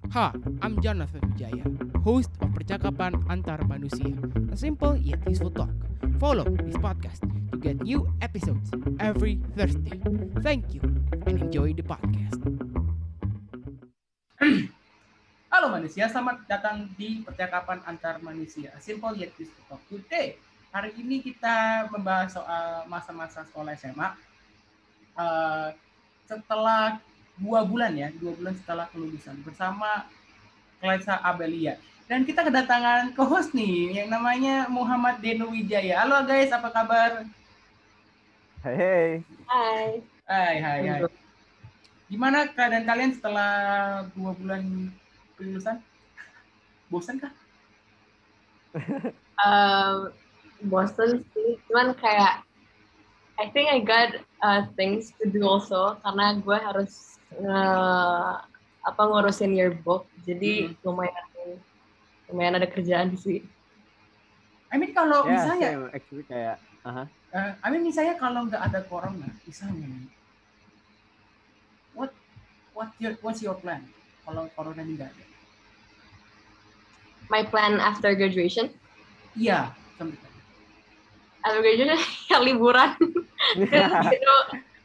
Hi, I'm Jonathan Wijaya, host of Percakapan Antar Manusia, a simple yet useful talk. Follow this podcast to get new episodes every Thursday. Thank you and enjoy the podcast. Halo manusia, selamat datang di Percakapan Antar Manusia, a simple yet useful talk. Today, hari ini kita membahas soal masa-masa sekolah SMA. Setelah 2 bulan setelah kelulusan bersama Klesa Abelia. Dan kita kedatangan co-host nih yang namanya Muhammad Deno Wijaya. Halo guys, apa kabar? Hai. Hai. Gimana keadaan kalian setelah 2 bulan kelulusan? Bosan kah? Bosen sih, cuman kayak I think I got things to do also karena gue harus ngurusin yearbook, jadi lumayan ada kerjaan sih. I mean kalau misalnya actually kayak misalnya kalau nggak ada corona, misalnya what's your plan kalau corona ini nggak ada? My plan after graduation? Iya, sampai after graduation ya liburan. Gitu,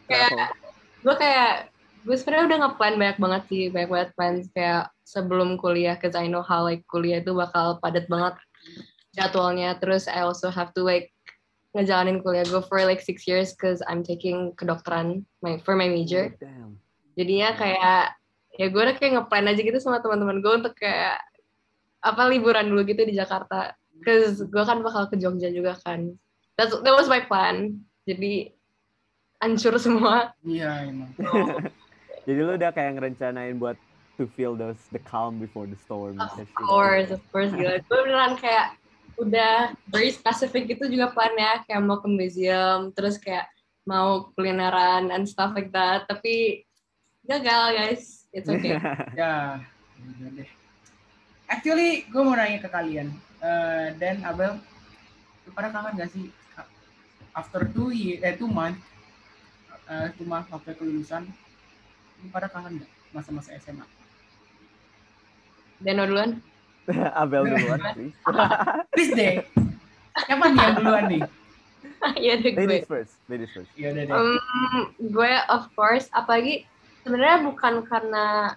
gue sebenarnya udah nge-plan banyak banget plans kayak sebelum kuliah, cause I know how like kuliah itu bakal padat banget jadwalnya. Terus I also have to like ngejalanin kuliah gue for like 6 years cause I'm taking kedokteran for my major. Jadinya kayak ya gue udah kayak nge-plan aja gitu sama teman-teman gue untuk kayak liburan dulu gitu di Jakarta. Cause gue kan bakal ke Jogja juga kan. That was my plan. Jadi hancur semua. Iya emang. Jadi lu udah kayak ngerencanain buat to feel the calm before the storm. Of course gila. Gue beneran kayak udah very specific gitu juga plannya, kayak mau ke museum, terus kayak mau kulineran and stuff like that. Tapi gagal guys. It's okay. Ya, udah deh. Actually, gue mau nanya ke kalian. Dan Abel, lu pada kangen gak sih after 2 months waktu kelulusan, lu pada kangen gak masa-masa SMA? Deno duluan? Abel duluan, please. Please deh. Siapa nih yang duluan nih? Iya deh gue. Ladies first. Iya deh. Gue of course, apalagi sebenarnya bukan karena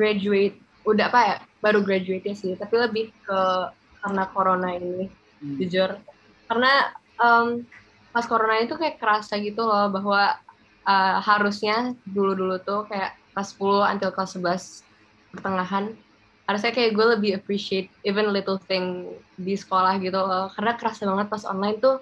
baru graduate ya sih, tapi lebih ke karena corona ini, jujur. Karena pas corona itu kayak kerasa gitu loh bahwa harusnya dulu tuh kayak kelas 10 until kelas 11 pertengahan, harusnya kayak gue lebih appreciate even little thing di sekolah gitu loh, karena kerasa banget pas online tuh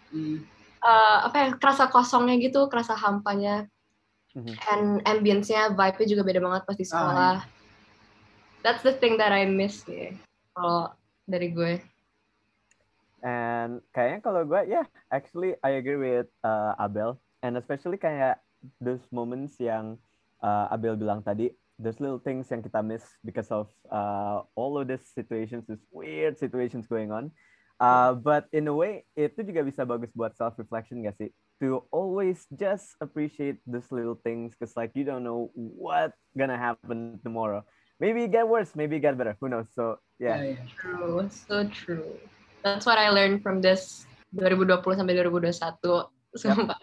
kerasa kosongnya gitu, kerasa hampanya, and ambience-nya, vibe-nya juga beda banget pas di sekolah. That's the thing that I miss sih kalau dari gue. And kayaknya kalau gue, actually I agree with Abel, and especially kayak those moments yang Abel bilang tadi, those little things yang kita miss because of all of these situations, these weird situations going on. But in a way, itu juga bisa bagus buat self-reflection gak sih? To always just appreciate those little things, because like you don't know what's gonna happen tomorrow. Maybe it get worse, maybe it get better. Who knows? So yeah. True, so true. That's what I learned from this 2020 sampai 2021. Sumpah.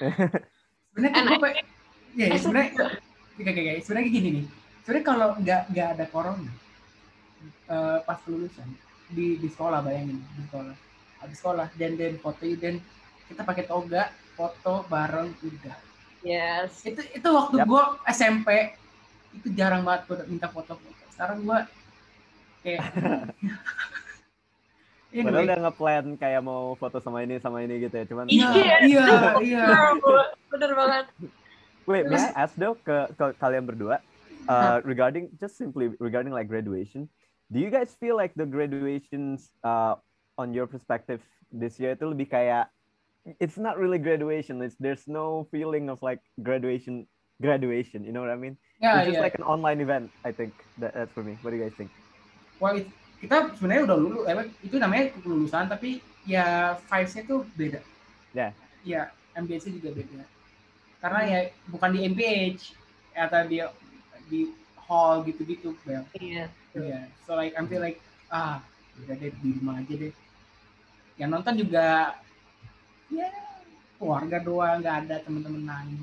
Sebenarnya gini nih. Sebenarnya kalau nggak ada corona pas kelulusan di sekolah, bayangin di sekolah. Habis sekolah dan foto dan kita pakai toga, foto bareng udah. Yes. Itu waktu gue SMP itu jarang banget gue minta foto. Sekarang gue kayak padahal udah nge-plan kayak mau foto sama ini gitu ya, cuman iya. Bener banget. Wait, may I ask though ke kalian berdua, regarding like graduation, do you guys feel like the graduations on your perspective this year itu lebih kayak it's not really graduation, there's no feeling of like graduation, you know what I mean? It's just like an online event, I think. That's for me. What do you guys think? Well, kita sebenarnya udah lulus, itu namanya kelulusan, tapi ya vibes-nya tuh beda. Ya, ambience-nya juga beda. Karena ya bukan di MPH atau di hall gitu-gitu, Bel. Iya. Yeah. So like I feel like udah deh di rumah aja deh. Yang nonton juga ya keluarga doang, nggak ada teman-teman lain.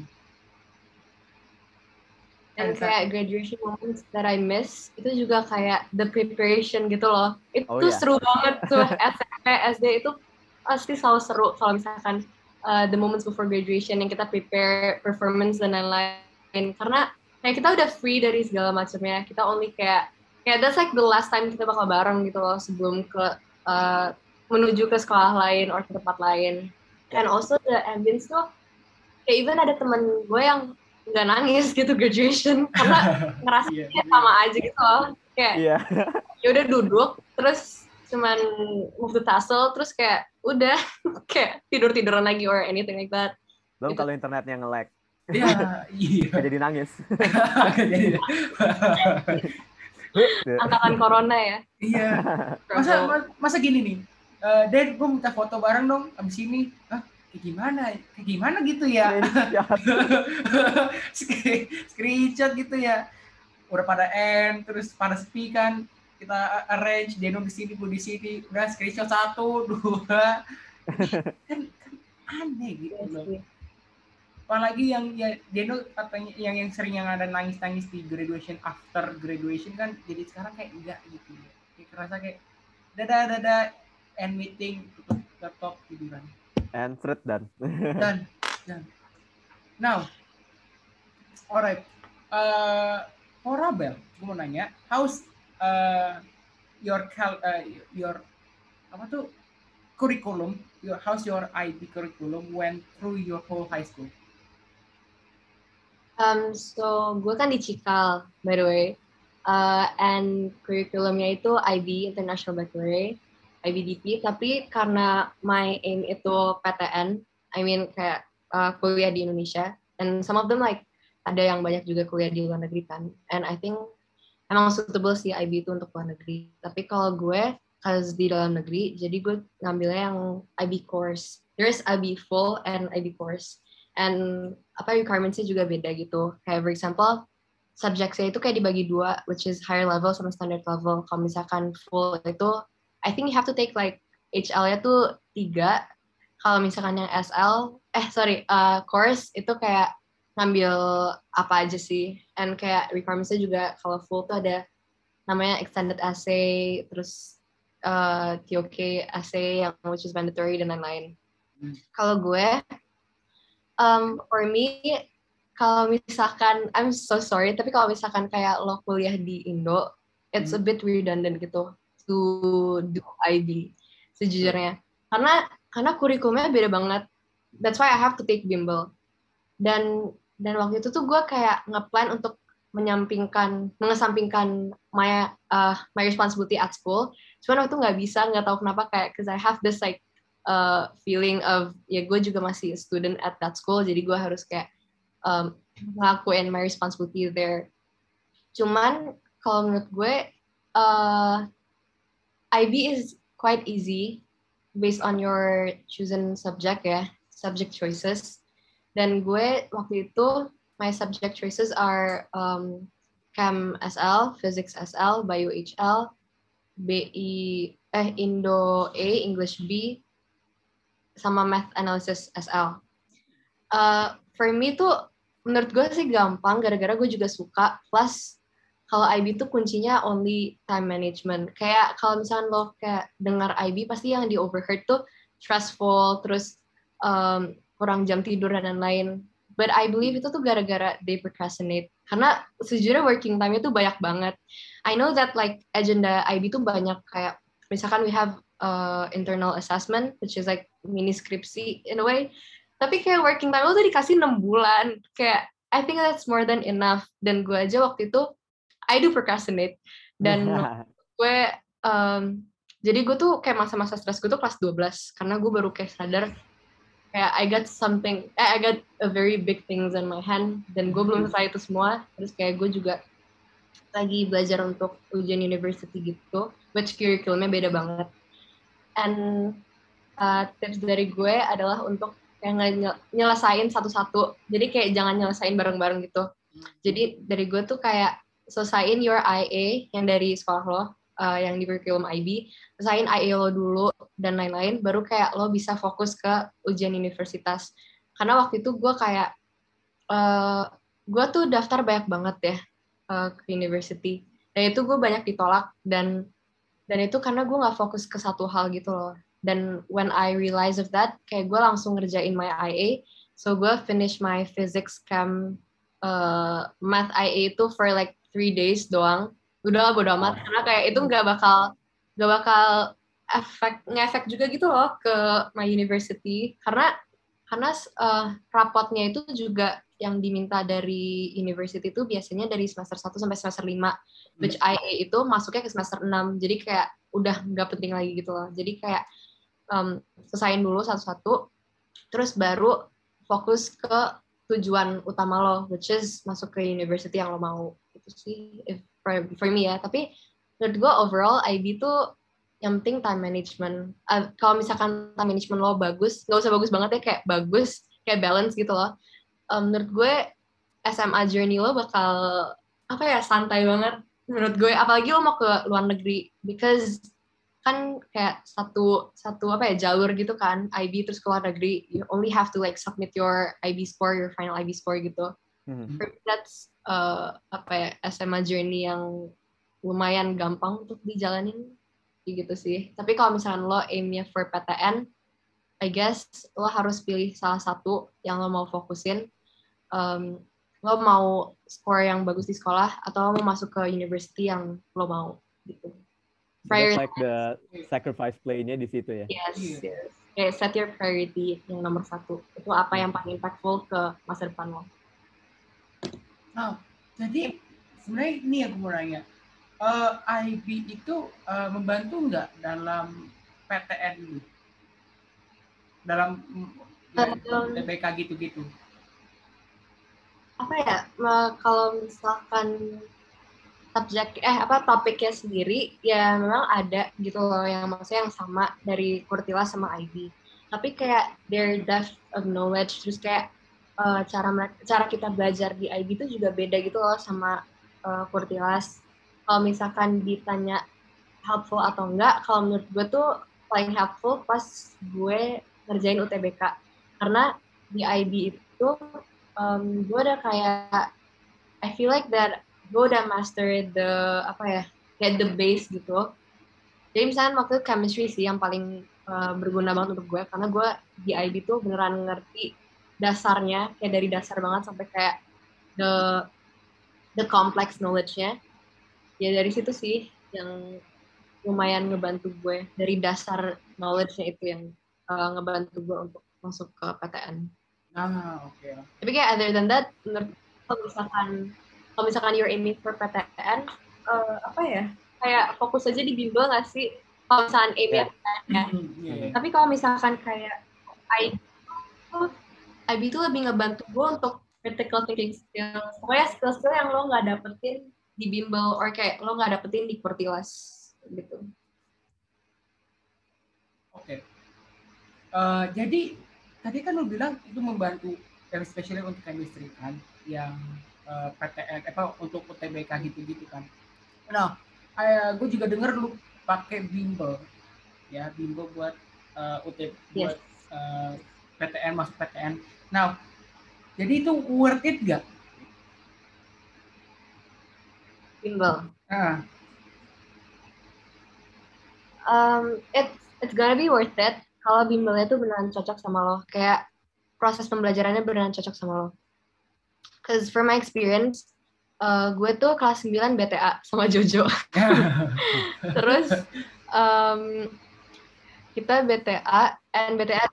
Dan kayak graduation moments that I miss itu juga kayak the preparation gitu loh. Itu seru banget tuh. SMP, SD itu pasti selalu seru kalau misalkan the moments before graduation yang kita prepare performance dan lain-lain. Karena kayak kita udah free dari segala macamnya. Kita only kayak that's like the last time kita bakal bareng gitu loh sebelum ke menuju ke sekolah lain or ke tempat lain. And also the ambience tuh kayak even ada temen gue yang nggak nangis gitu graduation karena ngerasanya sama aja gitu loh, kayak ya udah duduk terus cuman move the tassel terus kayak udah kayak tiduran lagi or anything like that. Belum gitu. Kalau internetnya nge-lag. Iya. Jadi nangis. Angkatan corona ya. Iya. Masa gini nih. Dad, gue minta foto bareng dong abis ini. Kayak gimana gitu ya. Screenshot gitu ya. Udah pada end, terus pada sepi kan. Kita arrange, Deno di sini, gue di sini. Udah screenshot 1, 2. Kan aneh gitu loh. Apalagi yang ya Deno katanya yang sering yang ada nangis-nangis di graduation, after graduation kan, jadi sekarang kayak enggak gitu ya. Kayak kerasa kayak dadah end meeting, tutup laptop, tiduran. And thread done. Done. Now, alright. For Abel, gue mau nanya, how's your curriculum? How's your IB curriculum went through your whole high school? So gue kan di Cikal, by the way, and curriculumnya itu IB International Baccalaureate. IBDP, tapi karena my aim itu PTN, I mean kayak kuliah di Indonesia, and some of them like ada yang banyak juga kuliah di luar negeri kan, and I think emang suitable sih IB itu untuk luar negeri. Tapi kalau gue, cause di dalam negeri, jadi gue ngambilnya yang IB course. There's IB full and IB course, and requirements-nya juga beda gitu. Kayak for example, subject-nya itu kayak dibagi 2, which is higher level sama standard level. Kalau misalkan full itu I think you have to take like HL-nya tuh 3. Kalau misalkan yang course itu kayak ngambil apa aja sih. And kayak requirements-nya juga kalau full tuh ada namanya extended essay, terus TOK essay yang which is mandatory dan lain-lain. Kalau gue, for me, kalau misalkan, I'm so sorry, tapi kalau misalkan kayak lo kuliah di Indo, it's a bit redundant gitu to do IB sejujurnya, karena kurikulumnya beda banget. That's why I have to take bimbel. Dan waktu itu tuh gue kayak ngeplan untuk mengesampingkan my responsibility at school. Cuman waktu itu nggak bisa, nggak tahu kenapa, kayak cause I have this like feeling of ya gue juga masih student at that school, jadi gue harus kayak ngelakuin my responsibility there. Cuman kalau menurut gue IB is quite easy based on your chosen subject ya, subject choices. Dan gue waktu itu my subject choices are Chem SL, Physics SL, Bio HL, Indo A, English B, sama Math Analysis SL. For me tuh menurut gue sih gampang, gara-gara gue juga suka, plus kalau IB tuh kuncinya only time management. Kayak kalau misalnya lo kayak dengar IB, pasti yang di overheard tuh stressful, terus kurang jam tidur dan lain-lain. But I believe itu tuh gara-gara they procrastinate. Karena sejujurnya working time-nya tuh banyak banget. I know that like agenda IB tuh banyak, kayak misalkan we have internal assessment, which is like mini skripsi in a way. Tapi kayak working time lo tuh dikasih 6 bulan. Kayak I think that's more than enough. Dan gue aja waktu itu I do procrastinate. Dan gue jadi gue tuh kayak masa-masa stres gue tuh kelas 12, karena gue baru kayak sadar kayak I got a very big things in my hand, dan gue belum selesai itu semua. Terus kayak gue juga lagi belajar untuk ujian university gitu, which curriculumnya beda banget. And tips dari gue adalah untuk kayak nyelesain satu-satu. Jadi kayak jangan nyelesain bareng-bareng gitu. Jadi dari gue tuh kayak selesaiin your IA yang dari sekolah lo, yang di curriculum IB, selesaiin IA lo dulu dan lain-lain, baru kayak lo bisa fokus ke ujian universitas. Karena waktu itu gue kayak gue tuh daftar banyak banget ya ke university, dan itu gue banyak ditolak, dan itu karena gue nggak fokus ke satu hal gitu loh. Dan when I realize of that, kayak gue langsung ngerjain my IA, so gue finish my physics chem math IA itu for like 3 days doang. Udah bodo amat, karena kayak itu nggak bakal ngefek juga gitu loh ke my university, karena rapotnya itu juga yang diminta dari university itu biasanya dari semester 1 sampai semester 5, which IA itu masuknya ke semester 6, jadi kayak udah nggak penting lagi gitu loh. Jadi kayak selesain dulu satu-satu, terus baru fokus ke tujuan utama lo, which is masuk ke university yang lo mau. Itu sih for me ya. Tapi menurut gue overall IB tuh yang penting time management. Kalau misalkan time management lo bagus, nggak usah bagus banget ya, kayak bagus, kayak balance gitu loh. Menurut gue SMA journey lo bakal santai banget menurut gue. Apalagi lo mau ke luar negeri, because kan kayak satu jalur gitu kan, IB terus ke luar negeri. You only have to like submit your IB score, your final IB score gitu. That's SMA journey yang lumayan gampang untuk dijalanin gitu sih. Tapi kalau misalkan lo aimnya for PTN, I guess lo harus pilih salah satu yang lo mau fokusin. Lo mau score yang bagus di sekolah, atau lo mau masuk ke university yang lo mau gitu. Just like the sacrifice play-nya di situ ya. Yes. Okay, set your priority yang nomor 1. Itu apa yang paling impactful ke masa depan lo. Nah, jadi sebenarnya ini aku mau nanya. IB itu membantu nggak dalam PTN ini? Dalam TBK gitu-gitu? Kalau misalkan topiknya sendiri ya memang ada gitu loh, yang maksudnya yang sama dari Kurtilas sama IB. Tapi kayak their depth of knowledge, terus kayak cara kita belajar di IB itu juga beda gitu loh sama Kurtilas. Kalau misalkan ditanya helpful atau enggak, kalau menurut gue tuh paling helpful pas gue ngerjain UTBK. Karena di IB itu gue udah kayak I feel like that gue udah master kayak the base gitu. Jadi misalnya waktu chemistry sih yang paling berguna banget untuk gue, karena gue di IB tuh beneran ngerti dasarnya, kayak dari dasar banget sampai kayak the complex knowledge-nya. Ya dari situ sih yang lumayan ngebantu gue, dari dasar knowledge-nya itu yang ngebantu gue untuk masuk ke PTN. Okay. Tapi kayak other than that, kalau misalkan you're aiming for PTN, kayak fokus aja di bimbel nggak sih? Kalau misalkan aimnya PTN ya. Tapi kalau misalkan kayak IB itu lebih ngebantu gue untuk critical thinking skills. Pokoknya skill-skill yang lo nggak dapetin di bimbel, or kayak lo nggak dapetin di Kurtilas gitu. Oke. Jadi tadi kan lo bilang itu membantu, especially untuk chemistry kan, yang PTN untuk UTBK gitu-gitu kan. Nah, gue juga dengar lu pakai bimbel, ya bimbel buat buat PTN, masuk PTN. Nah, jadi itu worth it gak? Bimbel. It's gonna be worth it kalau bimbelnya tuh beneran cocok sama lo, kayak proses pembelajarannya beneran cocok sama lo. Cause from my experience, gue tuh kelas 9 BTA sama Jojo. Terus kita BTA, and BTA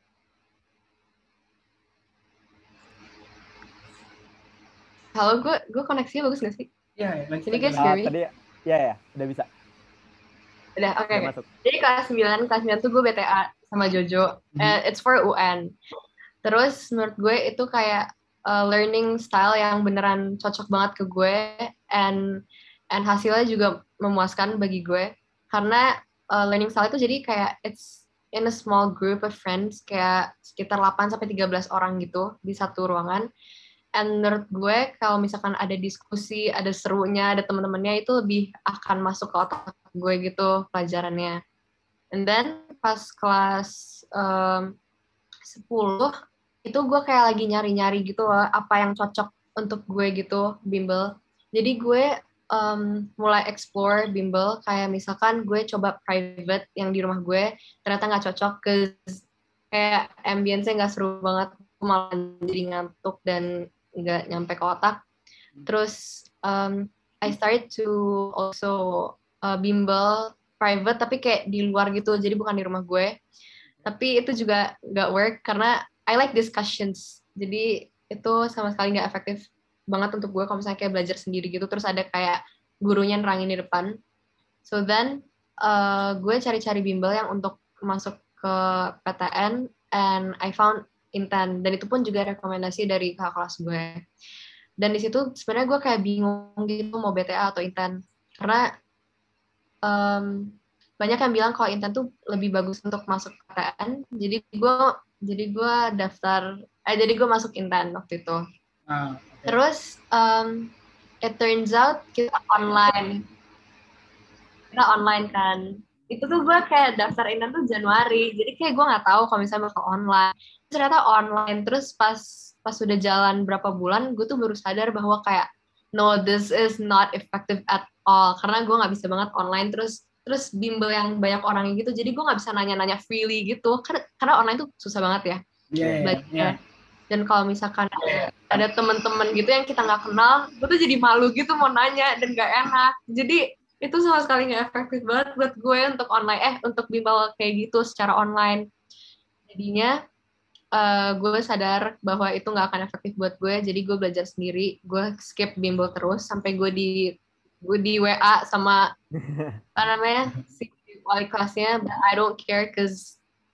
halo, gue koneksinya bagus gak sih? Iya, Can you guys hear me? Tadi ya, udah bisa. Udah, oke. Jadi kelas 9 tuh gue BTA sama Jojo. It's for UN. Terus menurut gue itu kayak learning style yang beneran cocok banget ke gue, and hasilnya juga memuaskan bagi gue. Karena learning style itu jadi kayak it's in a small group of friends, kayak sekitar 8-13 orang gitu di satu ruangan. And menurut gue kalau misalkan ada diskusi, ada serunya, ada teman-temannya itu lebih akan masuk ke otak gue gitu pelajarannya. And then pas kelas 10 itu gue kayak lagi nyari-nyari gitu loh apa yang cocok untuk gue gitu bimbel. Jadi gue mulai explore bimbel kayak misalkan gue coba private yang di rumah gue ternyata nggak cocok kayak ambience-nya nggak seru banget, malah jadi ngantuk dan nggak nyampe ke otak. Terus I started to also bimbel private tapi kayak di luar gitu, jadi bukan di rumah gue. Tapi itu juga nggak work karena I like discussions. Jadi itu sama sekali nggak efektif banget untuk gue kalau misalnya kayak belajar sendiri gitu. Terus ada kayak gurunya nerangin di depan. So then gue cari-cari bimbel yang untuk masuk ke PTN and I found Intan. Dan itu pun juga rekomendasi dari kakak kelas gue. Dan di situ sebenarnya gue kayak bingung gitu mau BTA atau Intan. Karena banyak yang bilang kalau Intan tuh lebih bagus untuk masuk PTN, jadi gue jadi gue masuk Intan waktu itu. Okay. Terus it turns out kita online kan. Itu tuh gue kayak daftar Intan tuh Januari, jadi kayak gue nggak tahu kalau misalnya bakal online. Ternyata online. Terus pas sudah jalan berapa bulan, gue tuh baru sadar bahwa kayak no, this is not effective at all, karena gue nggak bisa banget online. Terus bimbel yang banyak orang gitu, jadi gue nggak bisa nanya-nanya freely gitu, karena online tuh susah banget ya. Yeah. Dan kalau misalkan ada teman-teman gitu yang kita nggak kenal, gue tuh jadi malu gitu mau nanya dan nggak enak. Jadi itu sama sekali nggak efektif banget buat gue untuk untuk bimbel kayak gitu secara online. Jadinya gue sadar bahwa itu nggak akan efektif buat gue, jadi gue belajar sendiri. Gue skip bimbel terus sampai gue di WA sama apa namanya si wali kelasnya, but I don't care cause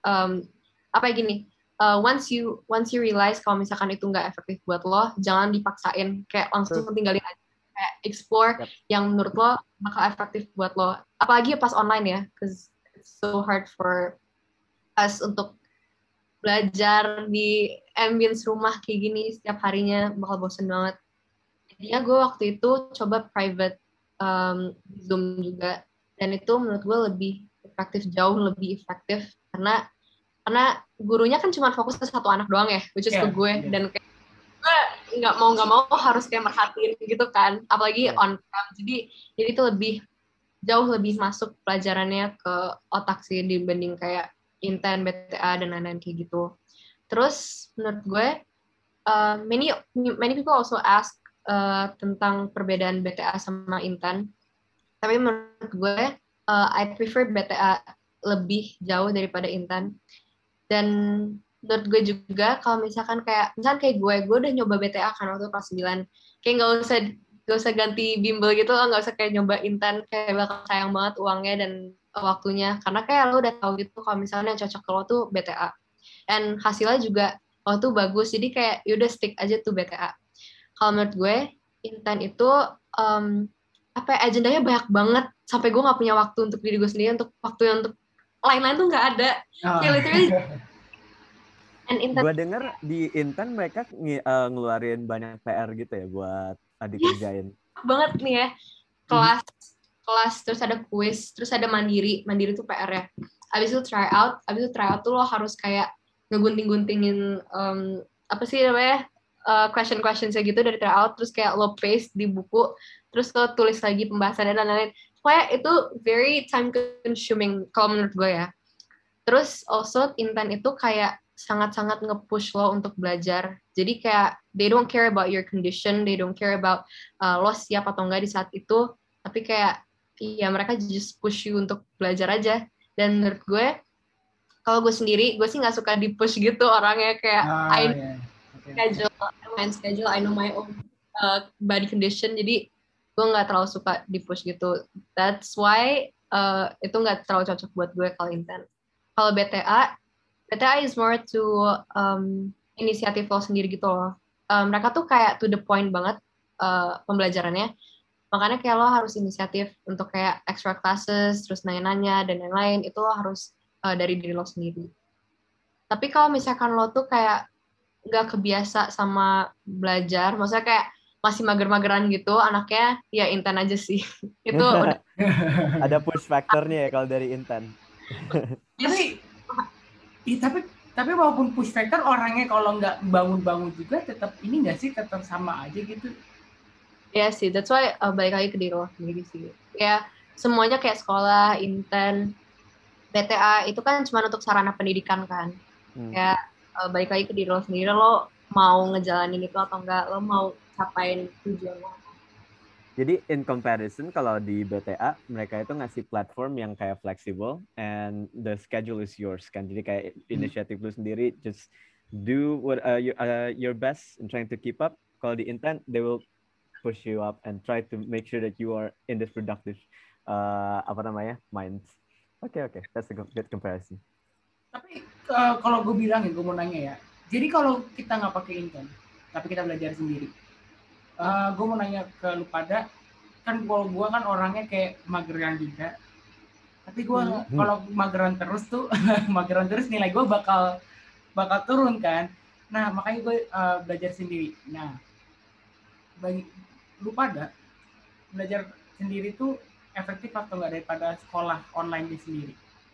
once you realize kalau misalkan itu nggak efektif buat lo, jangan dipaksain, kayak langsung tinggalin aja, kayak explore yang menurut lo bakal efektif buat lo, apalagi pas online ya, cause it's so hard for us untuk belajar di ambience rumah kayak gini setiap harinya, bakal bosen banget. Jadinya gue waktu itu coba private Zoom juga, dan itu menurut gue jauh lebih efektif karena gurunya kan cuma fokus ke satu anak doang ya, which is ke gue, dan kayak gue nggak mau harus kayak merhatiin gitu kan, apalagi on cam. Jadi itu jauh lebih masuk pelajarannya ke otak sih dibanding kayak Intan, BTA dan lain-lain kayak gitu. Terus menurut gue many people also ask tentang perbedaan BTA sama Intan, tapi menurut gue I prefer BTA lebih jauh daripada Intan. Dan menurut gue juga kalau misalkan kayak gue udah nyoba BTA kan waktu kelas 9, kayak nggak usah ganti bimbel gitu, nggak usah kayak nyoba Intan, kayak bakal sayang banget uangnya dan waktunya, karena kayak lo udah tahu gitu kalau misalnya yang cocok ke lo tuh BTA, and hasilnya juga waktu bagus, jadi kayak yaudah stick aja tuh BTA. Kalau menurut gue Intan itu agendanya banyak banget sampai gue nggak punya waktu untuk diri gue sendiri, untuk waktu untuk lain-lain tuh nggak ada. Kayak literally. Gue denger di Intan mereka ngeluarin banyak PR gitu ya buat dikerjain. Banget nih ya, kelas terus ada kuis, terus ada mandiri tuh PR ya. Abis itu try out tuh lo harus kayak ngegunting-guntingin question-questionnya gitu dari try out, terus kayak lo paste di buku, terus lo tulis lagi pembahasannya dan lain-lain. Pokoknya itu very time consuming kalau menurut gue ya. Terus also Intan itu kayak sangat-sangat nge-push lo untuk belajar. Jadi kayak they don't care about your condition, they don't care about lo siap atau enggak di saat itu, tapi kayak ya mereka just push you untuk belajar aja. Dan menurut gue, kalau gue sendiri, gue sih nggak suka di-push gitu orangnya, kayak schedule, I know my own body condition, jadi gue nggak terlalu suka di-push gitu. That's why itu nggak terlalu cocok buat gue kalau Intan. Kalau BTA is more to inisiatif lo sendiri gitu loh. Mereka tuh kayak to the point banget pembelajarannya. Makanya kayak lo harus inisiatif untuk kayak extra classes, terus nanya-nanya dan lain-lain. Itu lo harus dari diri lo sendiri. Tapi kalau misalkan lo tuh kayak nggak kebiasa sama belajar, maksudnya kayak masih mager-mageran gitu anaknya, ya Intan aja sih. Itu udah Ada push factornya ya kalau dari Intan. Tapi, tapi walaupun push factor orangnya kalau nggak bangun-bangun juga tetap ini nggak sih, tetap sama aja gitu. ya sih, that's why balik lagi ke diri lo sendiri sih. Ya semuanya kayak sekolah, Intan, BTA itu kan cuma untuk sarana pendidikan kan. Ya balik lagi ke diri lo sendiri, lo mau ngejalanin itu atau enggak, lo mau capain tujuan lo. Jadi in comparison kalau di BTA mereka itu ngasih platform yang kayak flexible and the schedule is yours kan. Jadi kayak inisiatif lu sendiri, just do what your best in trying to keep up. Kalau di Intan they will push you up and try to make sure that you are in this productive minds. Okay, that's a good comparison. Tapi kalau gue bilang ya, gue mau nanya ya. Jadi kalau kita nggak pakai Intan, tapi kita belajar sendiri. Gue mau nanya ke lu pada, kan kalau gue kan orangnya kayak mageran juga. Tapi gue kalau mageran terus tuh, nilai gue bakal turun kan. Nah makanya gue belajar sendiri. Nah bagi lu pada, belajar sendiri tuh efektif atau nggak daripada sekolah online di sendiri?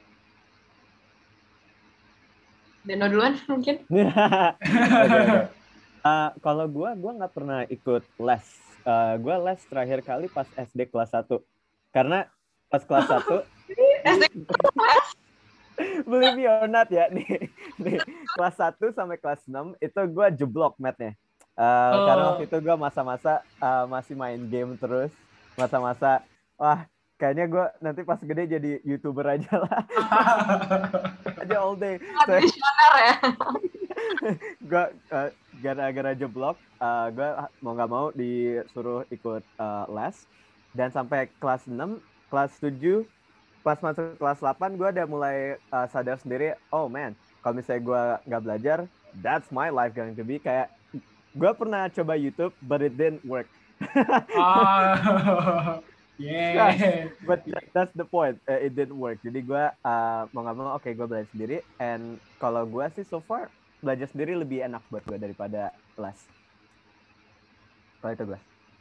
Deno duluan mungkin. Okay. Kalau gue nggak pernah ikut les. Gue les terakhir kali pas SD kelas 1. Karena pas kelas 1 believe me or not ya, nih kelas 1 sampai kelas 6 itu gue jeblok mathnya. Karena waktu itu gue masa-masa masih main game terus. Masa-masa, wah kayaknya gue nanti pas gede jadi YouTuber aja lah. Aja all day. Visioner ya. Gue gara-gara jeblok, gue mau nggak mau disuruh ikut les. Dan sampai kelas 6, kelas 7, pas masuk kelas 8, gue udah mulai sadar sendiri, oh man, kalau misalnya gue nggak belajar, that's my life going to be. Kayak, gue pernah coba YouTube, but it didn't work. Yeah. But that's the point. It didn't work. Jadi gue mau nggak mau, gue belajar sendiri. And kalau gue sih so far belajar sendiri lebih enak buat gue daripada les. Kalau itu gue.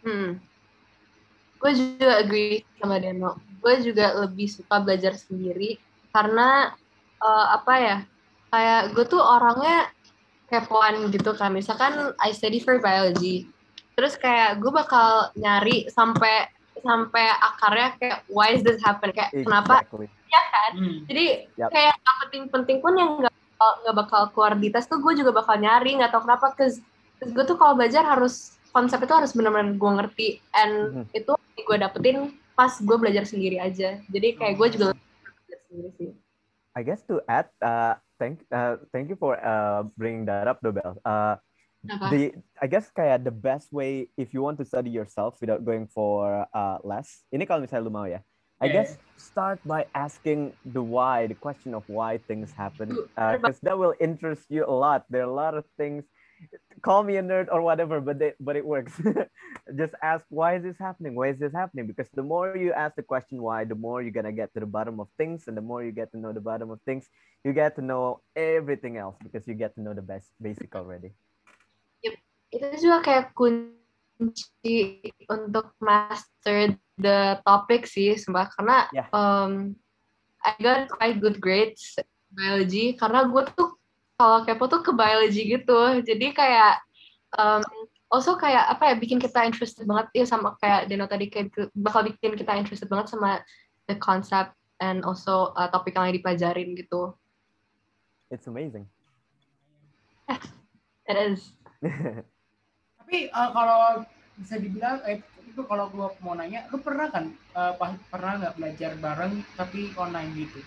Gue juga agree sama Deno. Gue juga lebih suka belajar sendiri karena kayak gue tuh orangnya kepoan gitu kan. Misalkan I study for biology, terus kayak gue bakal nyari sampai akarnya kayak why is this happen, kayak kenapa ya kan. Jadi kayak yang penting pun yang nggak bakal keluar di tes tuh gue juga bakal nyari, nggak tahu kenapa. Cause gue tuh kalau belajar harus konsep itu harus benar-benar gue ngerti, and itu gue dapetin pas gue belajar sendiri aja. Jadi kayak gue juga belajar sendiri sih. I guess to add, thank you for bringing that up, Dobel. I guess kayak the best way if you want to study yourself without going for les. Ini kalau misalnya lu mau ya. I guess start by asking the question of why things happen, because that will interest you a lot. There are a lot of things. Call me a nerd or whatever, but it works. Just ask, why is this happening? Why is this happening? Because the more you ask the question why, the more you're gonna get to the bottom of things, and the more you get to know the bottom of things, you get to know everything else because you get to know the basic already. Yep. Itu juga kayak kunci untuk master the topic sih, sumpah. Karena I got quite good grades biology karena gue tuh kalau kepo tuh ke biology gitu. Jadi kayak also kayak bikin kita interested banget ya, sama kayak Deno tadi, kayak bakal bikin kita interested banget sama the concept and also topik yang dipelajarin gitu. It's amazing. It is. Tapi kalau bisa dibilang itu, kalau gue mau nanya, lu pernah kan pernah nggak belajar bareng tapi online gitu?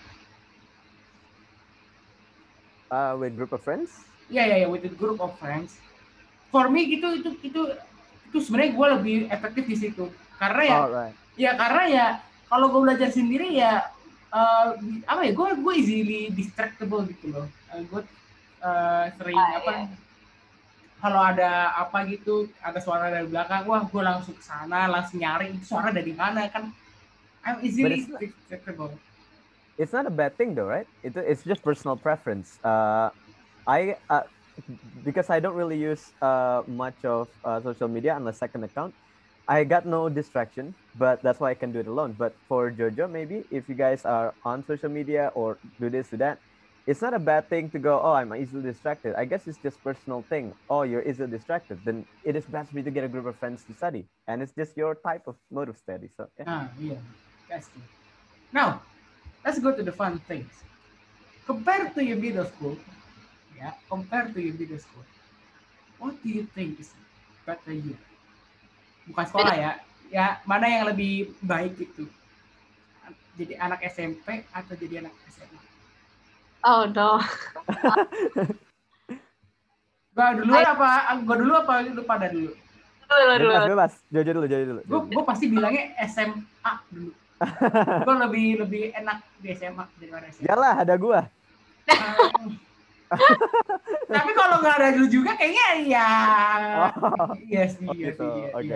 With group of friends? Yeah, with a group of friends. For me itu sebenarnya gue lebih efektif di situ. Karena karena kalau gue belajar sendiri ya gue easily distractible gitu loh. Gue sering kalau ada apa gitu, ada suara dari belakang, wah gue langsung ke sana, langsung nyari itu suara dari mana kan. I'm easily distractible. It's not a bad thing though, right? It's just personal preference. because I don't really use much of social media unless second account. I got no distraction, but that's why I can do it alone. But for Jojo, maybe if you guys are on social media or do this, do that, it's not a bad thing to go, oh, I'm easily distracted. I guess it's just personal thing. Oh, you're easily distracted. Then it is best for you to get a group of friends to study. And it's just your type of mode of study. So, yeah. Yeah, that's true. Now, let's go to the fun things. Compared to your middle school, what do you think is better year? Bukan sekolah ya, mana yang lebih baik itu? Jadi anak SMP atau jadi anak SMA? Oh no. Gua dulu apa lu pada dulu? Bebas. Jojo dulu. Gue pasti bilangnya SMA dulu. Gue lebih enak di SMA daripada SMA. Yalah, ada gua. Tapi kalau nggak ada lu juga kayaknya ya. Iya sih. Oke.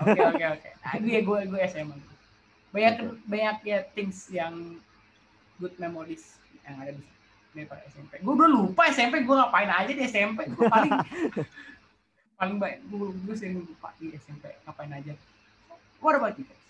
Gue SMA. Banyak ya things yang good memories yang ada di daripada SMP. Gue udah lupa SMP gue ngapain aja di SMP. Gue paling baik gue sering lupa di SMP ngapain aja. What about you guys?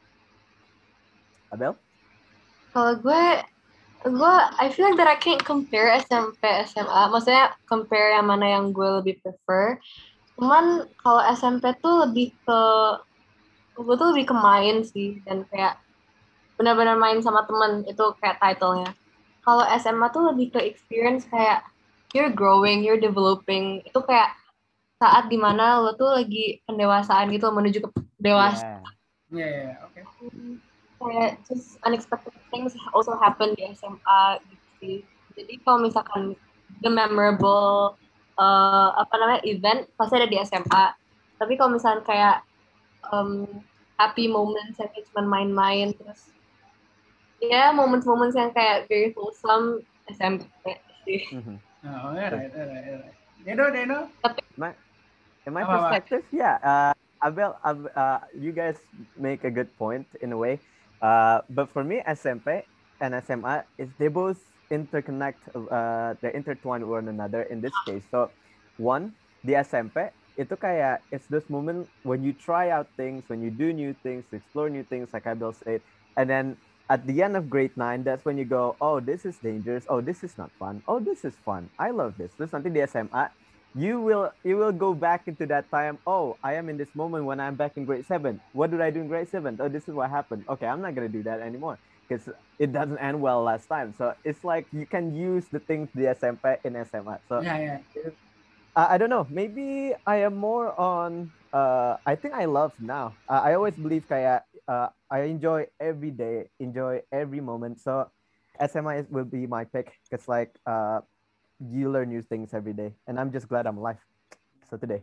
Abel? Kalau gue I feel like that I can't compare SMP SMA. Maksudnya compare yang mana yang gue lebih prefer. Cuman kalau SMP tuh gue tuh lebih ke main sih, dan kayak benar-benar main sama temen, itu kayak title-nya. Kalau SMA tuh lebih ke experience, kayak you're growing, you're developing. Itu kayak saat dimana lo tuh lagi pendewasaan gitu, menuju ke dewasa. Yeah, okay. Kayak just unexpected things also happen di SMA gitu sih. Jadi kalau misalkan the memorable event pasti ada di SMA. Tapi kalau misalkan kayak happy moments yang cuma main-main, terus ya moments yang kayak very wholesome SMP sih. Oh, alright. Deno. In my perspective, Abel, you guys make a good point in a way. But for me, SMP and SMA they both they're intertwined with one another in this case. So, one, the SMP itu kayak it's this moment when you try out things, when you do new things, explore new things, like Abel said, and then at the end of grade 9, that's when you go, oh, this is dangerous, oh, this is not fun, oh, this is fun, I love this. Terus nanti di SMA, you will go back into that time, oh, I am in this moment when I'm back in grade 7. What did I do in grade 7? Oh, this is what happened. Okay, I'm not going to do that anymore because it doesn't end well last time. So it's like you can use the things the SMP in SMA. So yeah. I don't know. Maybe I am more on. I think I love now. I always believe kayak I enjoy every day, enjoy every moment. So SMA will be my pick because like you learn new things every day, and I'm just glad I'm alive. So today.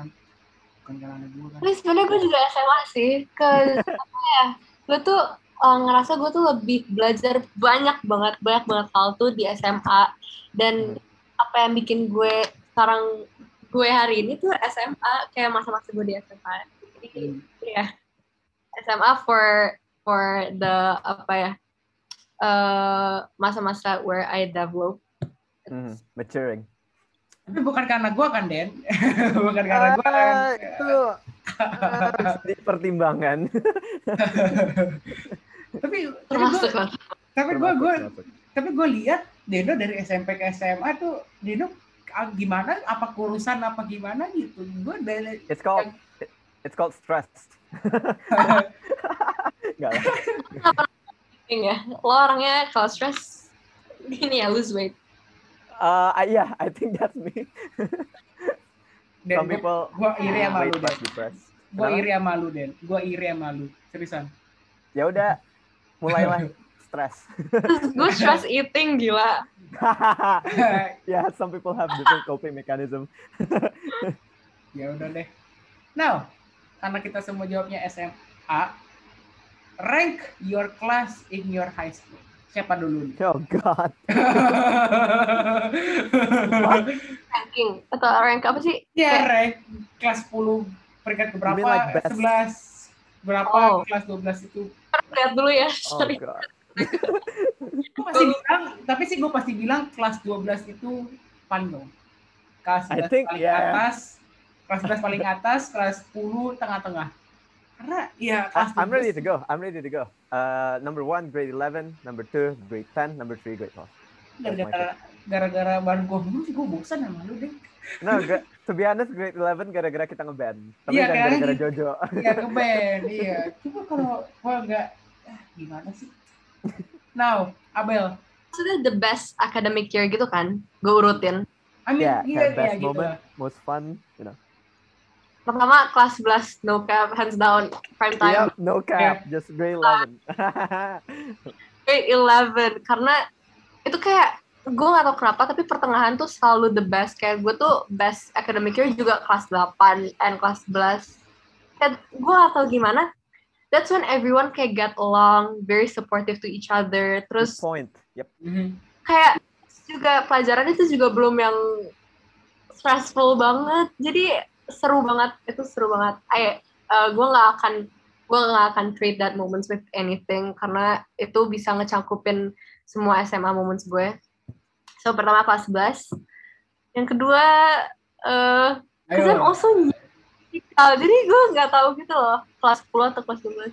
Tapi sebenarnya gue juga SMA sih, gue tuh ngerasa gue tuh lebih belajar banyak banget hal tuh di SMA, dan apa yang bikin gue sekarang gue hari ini tuh SMA, kayak masa-masa gue di SMA. Jadi ya SMA for the masa-masa where I develop. Maturing. Tapi bukan karena gue kan, Den. Bukan karena gue kan. Itu di pertimbangan. Tapi gue lihat Deno dari SMP ke SMA tuh Deno gimana? Apa kurusan apa gimana gitu? Gue dari It's called stress. Enggak lah. Ya, lo orangnya kalau stress gini ya, lose weight. Yeah, I think that's me. Some people gue iri sama lu, Den. Gue iri sama lu, seriusan. Ya udah, mulailah stres. Gue stress eating, gila. Yeah, some people have different coping mechanism. Ya udah deh. Now, karena kita semua jawabnya SMA, rank your class in your high school. Siapa dulu? Oh God. Ranking atau rank apa sih? Ya, rank kelas 10 peringkat keberapa? Like 11 berapa? Kelas 12 itu. Lihat dulu ya. Oh God. Gue pasti bilang kelas 12 itu paling dong. kelas I 11 think, paling yeah. atas, kelas 11 paling atas, kelas 10 tengah-tengah. Karena ya kelas I'm ready 12 to go. I'm ready to go. Number 1, grade 11. Number 2, grade 10. Number 3, grade 12. gara-gara bahan gue dulu sih gue bosan sama lu deh. No, to be honest, grade 11 gara-gara kita ngeband. Tapi Iya, jangan kayaknya gara-gara gitu. Jojo. Iya, ngeband. Iya. Coba kalau gue nggak, gimana sih? Now, Abel. Maksudnya the best academic year gitu kan, gue urutin. I mean, Yeah, iya, kayak best gitu moment, lah. most fun, you know. Pertama kelas 11, no cap, hands down, prime time. Yep, no cap, just grade 11. Grade 11, karena itu kayak, gue gak tau kenapa, tapi pertengahan tuh selalu the best. Kayak gue tuh best academic year juga kelas 8 and kelas 11. Kayak gue gak tau gimana, that's when everyone kayak get along, very supportive to each other. Terus Good point. Yep. kayak juga pelajaran itu juga belum yang stressful banget. Jadi seru banget, itu seru banget. Gue nggak akan trade that moments with anything karena itu bisa ngecakupin semua SMA moments gue. So pertama kelas 11, yang kedua because I'm also jadi gue nggak tahu gitu loh kelas 10 atau kelas 12.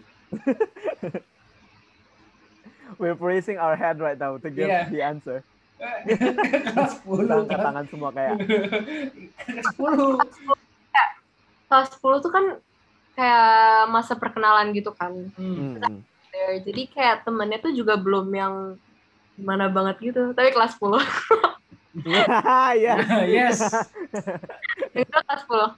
We're raising our head right now to give the answer. Kelas 10 Angkat tangan semua kayak. Kelas 10. Kelas 10 tuh kan kayak masa perkenalan gitu kan. Jadi kayak temennya tuh juga belum yang gimana banget gitu. Tapi kelas 10. Yes. Itu kelas 10.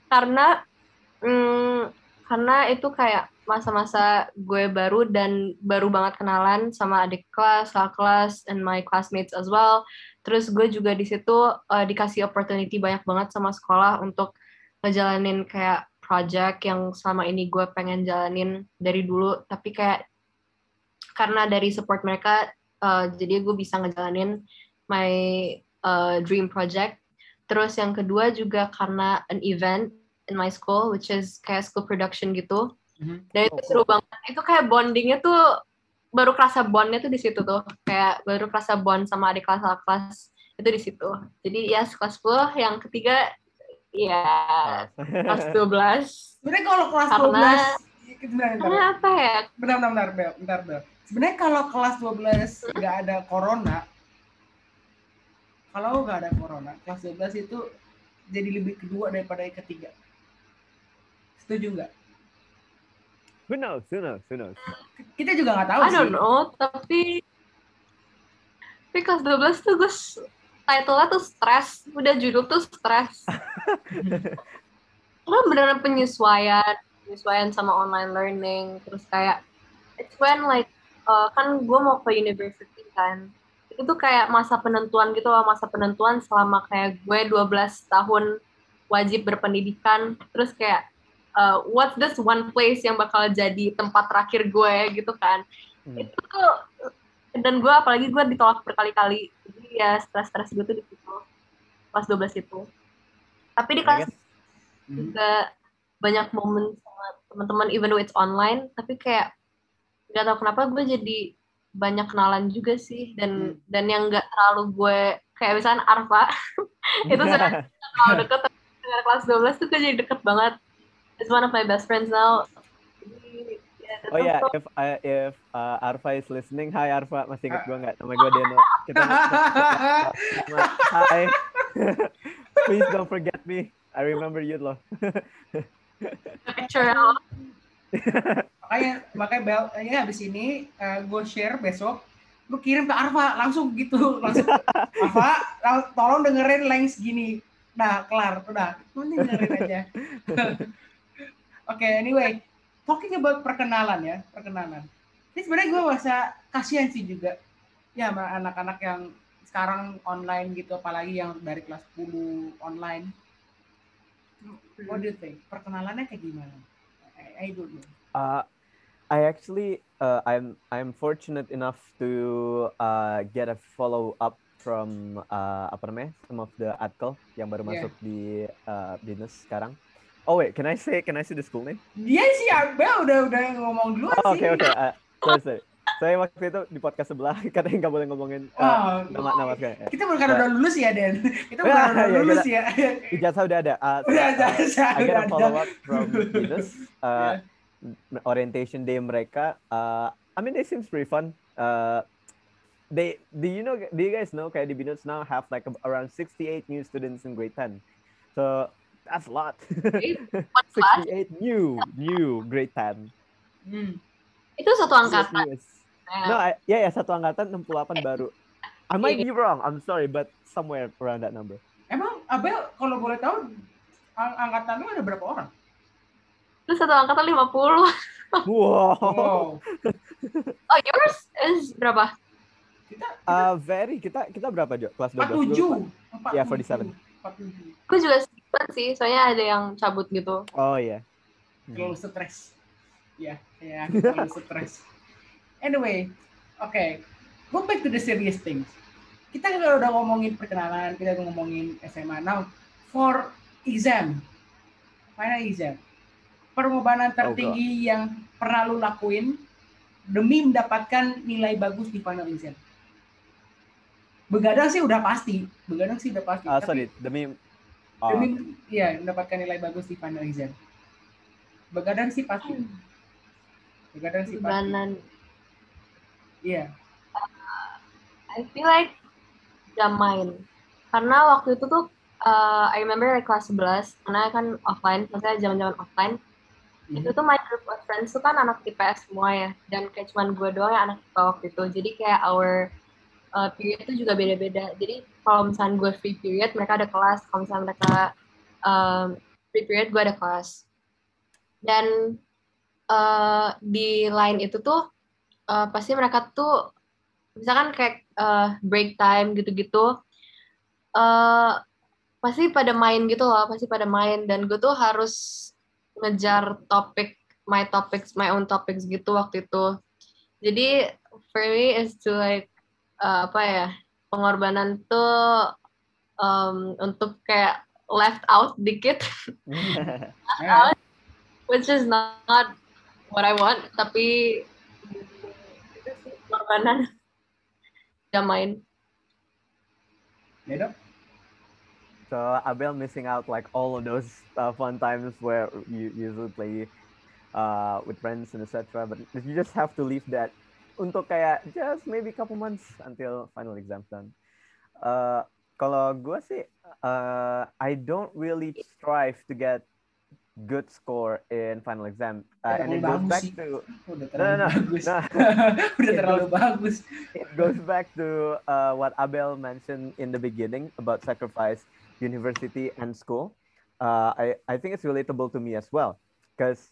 Karena itu kayak masa-masa gue baru dan baru banget kenalan sama adik kelas, kakak kelas, and my classmates as well. Terus gue juga di situ dikasih opportunity banyak banget sama sekolah untuk ngejalanin kayak project yang selama ini gue pengen jalanin dari dulu, tapi kayak karena dari support mereka, jadi gue bisa ngejalanin my dream project. Terus yang kedua juga karena an event in my school, which is kayak school production gitu. Dan itu seru banget. Itu kayak bondingnya tuh, baru kerasa bondnya tuh di situ tuh. Kayak baru kerasa bond sama adik kelas itu di situ. Jadi ya kelas 10, yang ketiga ya kelas 12. Sebenarnya kalau kelas 12 karena apa ya? Bentar, Bel. Sebenarnya kalau kelas 12 nggak ada corona, kelas 12 itu jadi lebih kedua daripada yang ketiga. Setuju nggak? Who knows? Kita juga nggak tahu I sih. don't know, tapi kelas 12 tuh gue title-nya tuh stress, udah judul tuh stress. Karena beneran penyesuaian sama online learning, terus kayak it's when like kan gue mau ke university kan, itu tuh kayak masa penentuan gitu loh, selama kayak gue 12 tahun wajib berpendidikan, terus kayak what's this one place yang bakal jadi tempat terakhir gue gitu kan. Itu tuh, dan gue apalagi gue ditolak berkali-kali, jadi ya stres gue tuh di situ kelas 12 itu. Tapi di kelas juga banyak momen sama teman-teman, even though it's online, tapi kayak nggak tahu kenapa gue jadi banyak kenalan juga sih, dan yang nggak terlalu gue kayak misalnya Arfa itu sebenarnya terlalu deket, tapi dengan kelas 12 tuh gue jadi deket banget. It's one of my best friends now. Oh ya, if Arfa is listening, hi Arfa, masih ingat gue nggak? Nama gue Deno. Hi. Please don't forget me. I remember you loh. Picture. Makanya Bel, ya habis ini gue share besok, lu kirim ke Arfa langsung gitu, Arfa, tolong dengerin link segini. Nah, kelar, udah, nanti dengerin aja. Oke, anyway, talking about perkenalan. Ini sebenarnya gue merasa kasihan sih juga, ya sama anak-anak yang sekarang online gitu, apalagi yang dari kelas 10 online. What do you think? Perkenalannya kayak gimana? I don't know. I actually, I'm fortunate enough to get a follow up from some of the adkel yang baru masuk di BINUS sekarang. Oh wait, can I say the school name? Dia sih Abel udah ngomong duluan sih. Okay. Sorry. Saya waktu itu di podcast sebelah katanya nggak boleh ngomongin nama sekali. Kita bukan udah lulus ya, Den? Kita bukan Ya, udah ya, lulus ya. Ijazah udah ada. Udah I get udah a follow up from Venus. Orientation day mereka. I mean, they seems pretty fun. Do you guys know kayak di Binus now have like around 68 new students in grade 10. So that's a lot. 68 new grade 10. Itu satu angkatan. No, satu angkatan 68 baru. I might be wrong. I'm sorry, but somewhere around that number. Emang Abel kalau boleh tahu angkatan lu ada berapa orang? Itu satu angkatan 50. Wow. Oh, yours is berapa? Kita berapa, Jo? Kelas 12. 47. Ya, 47. Aku juga sedikit sih, soalnya ada yang cabut gitu. Oh iya. Terlalu stres. Ya, terlalu stres. Anyway, okay. Go back to the serious things. Kita udah ngomongin perkenalan, kita udah ngomongin SMA. Now, for exam, final exam, pengorbanan tertinggi yang pernah lu lakuin demi mendapatkan nilai bagus di final exam. Begadang sih udah pasti. Demi mendapatkan nilai bagus di final exam. Begadang sih pasti. Iya. I feel like jam main. Karena waktu itu tuh I remember kelas 11, karena kan offline, maksudnya zaman-zaman offline. Itu tuh my group of friends tuh kan anak IPS semua ya, dan kayak cuman gue doang yang anak IPA waktu itu. Jadi kayak our period itu juga beda-beda. Jadi kalau misalnya gue free period, mereka ada kelas. Kalau misalnya mereka free period, gue ada kelas. Dan di line itu tuh pasti mereka tuh misalkan kayak break time gitu-gitu, pasti pada main gitu loh, dan gue tuh harus ngejar my own topics gitu waktu itu. Jadi for me is to like pengorbanan tuh untuk kayak left out dikit, which is not what I want, tapi itu sih pengorbanan jam main. So Abel missing out like all of those fun times where you usually play with friends and etc. But you just have to leave that untuk kayak just maybe couple months until final exams done. Kalau gue sih, I don't really strive to get good score in final exam, and it goes back to terlalu bagus. It goes back to what Abel mentioned in the beginning about sacrifice, university and school. I think it's relatable to me as well, because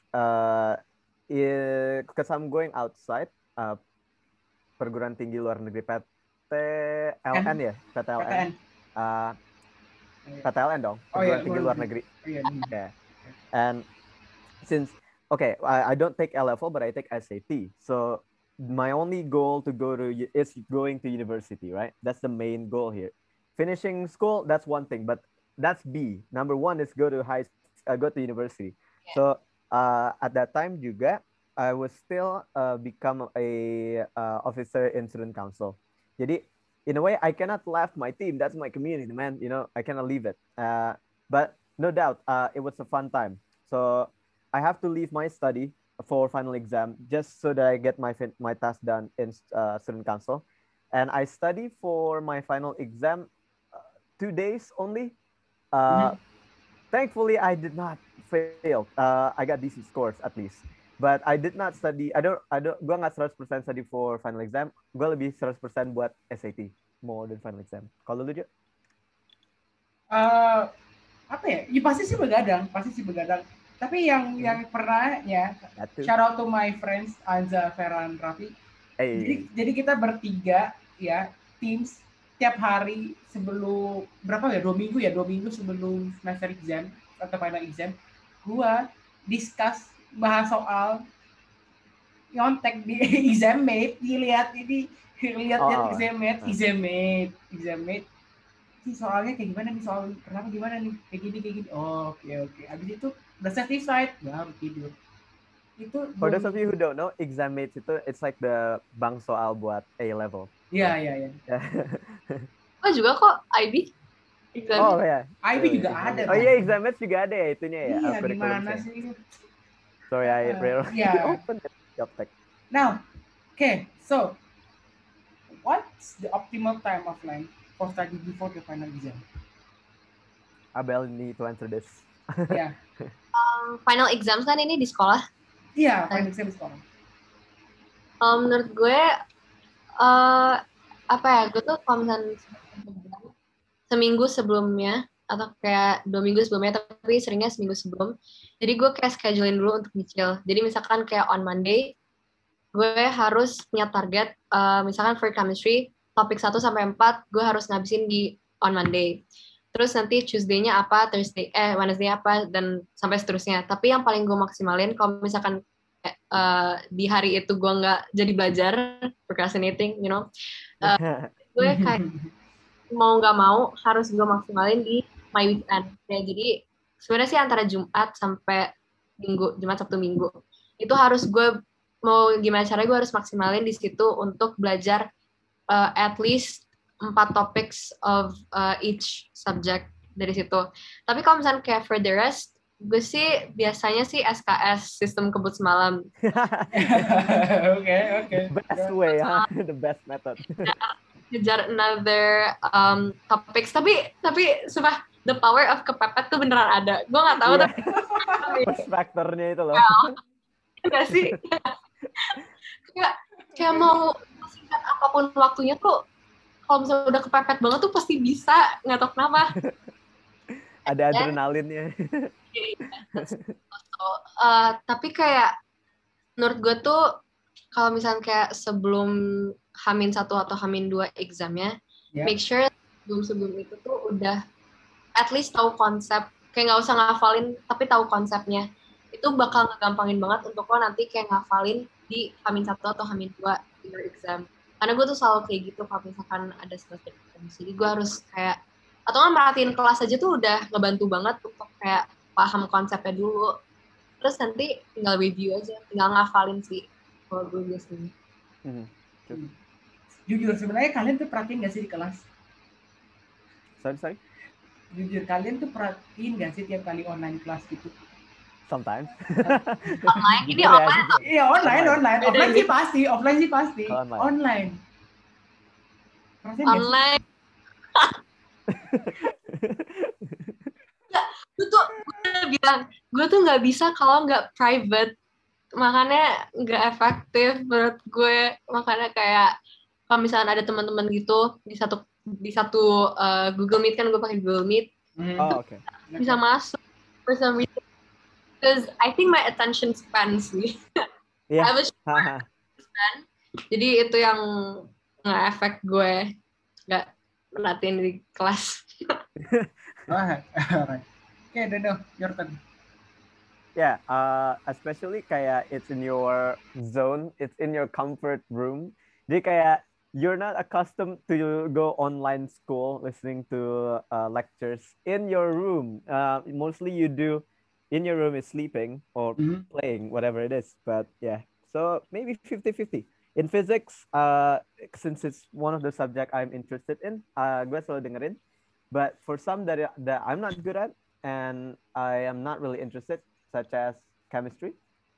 I'm going outside, perguruan tinggi luar negeri PTLN ya, PTLN. PTLN dong, perguruan tinggi luar negeri. Yeah. And since I don't take LFO, but I take SAT. So my only goal is going to university, right? That's the main goal here. Finishing school, that's one thing, but that's B. Number one is go to university. Yeah. So at that time juga, I was still become a officer in student council. Jadi in a way, I cannot leave my team. That's my community, man. I cannot leave it. But no doubt, it was a fun time. So I have to leave my study for final exam just so that I get my task done in student council. And I study for my final exam 2 days only. Thankfully, I did not fail. I got decent scores at least. But I did not study. Gue nggak 100% study for final exam. Gue lebih 100% buat SAT more than final exam. Kalau lu juga? Apa ya? Ya pasti sih begadang. Tapi yang pernah ya, shout out to my friends Anza, Ferran, Raffi. Hey. Jadi kita bertiga ya, teams tiap hari sebelum 2 minggu sebelum semester exam atau final exam, gua discuss bahas soal nyontek di exammate, lihat exammate. Ini soalnya kayak gimana nih, soal kenapa gimana nih, kayak gini. Oke. Abis itu udah satisfied, baru tidur. itu For those of you who don't know, exam mates itu it's like the bank soal buat A level. Iya, iya. Oh juga kok IB exam. Oh ya. IB juga ada. Oh iya, exam mates juga ada ya itunya ya. Iya, Curriculum gimana saya. sih? Sorry, I rarely Yeah. open the job tech. Now, okay, so what's the optimal time offline for study before the final exam? Abel need to answer this. Yeah. Final exams kan ini di sekolah. Iya, final exam sekarang. Menurut gue apa ya, gue tuh kalau misalnya seminggu sebelumnya atau kayak 2 minggu sebelumnya, tapi seringnya seminggu sebelum. Jadi gue kayak schedulein dulu untuk nyicil. Jadi misalkan kayak on Monday, gue harus punya target, misalkan for chemistry, topik 1 sampai 4, gue harus ngabisin di on Monday. Terus nanti Tuesday-nya apa, Wednesday apa, dan sampai seterusnya. Tapi yang paling gue maksimalin, kalau misalkan di hari itu gue nggak jadi belajar, procrastinating, you know, gue kayak mau nggak mau harus gue maksimalin di my weekend. Ya, jadi sebenarnya sih antara Jumat sampai Minggu, Jumat Sabtu Minggu, itu harus gue mau gimana caranya gue harus maksimalin di situ untuk belajar at least 4 topics of each subject dari situ. Tapi kalau misalnya kayak for the rest, gue sih biasanya sih SKS, sistem kebut semalam. Okay. Best way, huh? The best method. Ngejar another topics. Tapi sumpah, the power of kepepet tuh beneran ada. Gue nggak tahu tapi Push factornya itu loh. Enggak sih. kayak mau singkat apapun waktunya tuh, kalau misalnya udah kepepet banget tuh pasti bisa, nggak tahu kenapa. Ada adrenalinnya. Tapi kayak menurut gue tuh kalau misalnya kayak sebelum H-1 atau H-2 examnya, make sure sebelum itu tuh udah at least tahu konsep, kayak nggak usah ngafalin tapi tahu konsepnya. Itu bakal ngegampangin banget untuk lo nanti kayak ngafalin di H-1 atau H-2 in your exam. Karena gue tuh selalu kayak gitu kalau misalkan ada semester exam. Jadi gue harus kayak, atau nggak merhatiin kelas aja tuh udah ngebantu banget untuk kayak paham konsepnya dulu. Terus nanti tinggal review aja, tinggal ngafalin sih kalau gue biasanya. Jujur, sebenarnya kalian tuh perhatiin gak sih di kelas? Sorry? Jujur, kalian tuh perhatiin gak sih tiap kali online kelas gitu? Sometimes. Online? Ini online? Iya, online. Offline sih pasti. Online. Online. Gue udah bilang, gue tuh nggak bisa kalau nggak private, makanya nggak efektif menurut gue. Makanya kayak kalau misalnya ada teman-teman gitu di satu Google Meet, kan gue pakai Google Meet, bisa masuk for some reason, because I think my attention span sih. Yeah. I was span, jadi itu yang nge-efek gue nggak merhatiin di kelas. Okay, Dodo, your turn. Yeah, especially kayak it's in your zone, it's in your comfort room. Jadi kayak you're not accustomed to go online school listening to lectures in your room. Mostly you do in your room is sleeping or playing, whatever it is. But yeah, so maybe 50-50. In physics, since it's one of the subject I'm interested in, gue selalu dengerin. But for some that I'm not good at and I am not really interested, such as chemistry,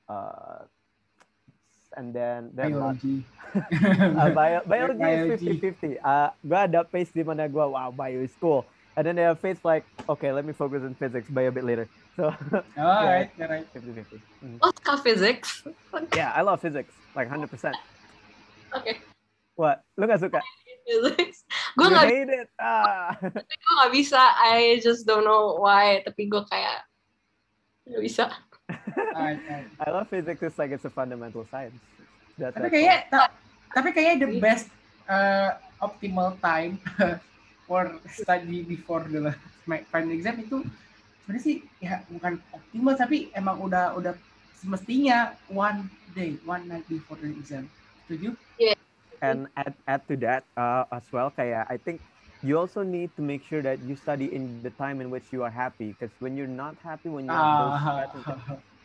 and then biology. Biology is 50-50. Gue ada phase di mana gue, wow, bio is cool. And then they have phase like, okay, let me focus on physics, bio a bit later. So, right. 50-50. Oh, suka physics? Yeah, I love physics, like 100%. Okay. What? Lu gak suka? Physics. Gue nggak hate it. Gue nggak bisa. I just don't know why. Tapi gue kayak nggak bisa. I love physics. It's like it's a fundamental science. Tapi kayaknya the best optimal time for study before the final exam itu sebenarnya sih ya bukan optimal, tapi emang udah semestinya one night before the exam. Setuju? Yeah. And add to that as well, kayak I think you also need to make sure that you study in the time in which you are happy, because when you're not happy, when you have those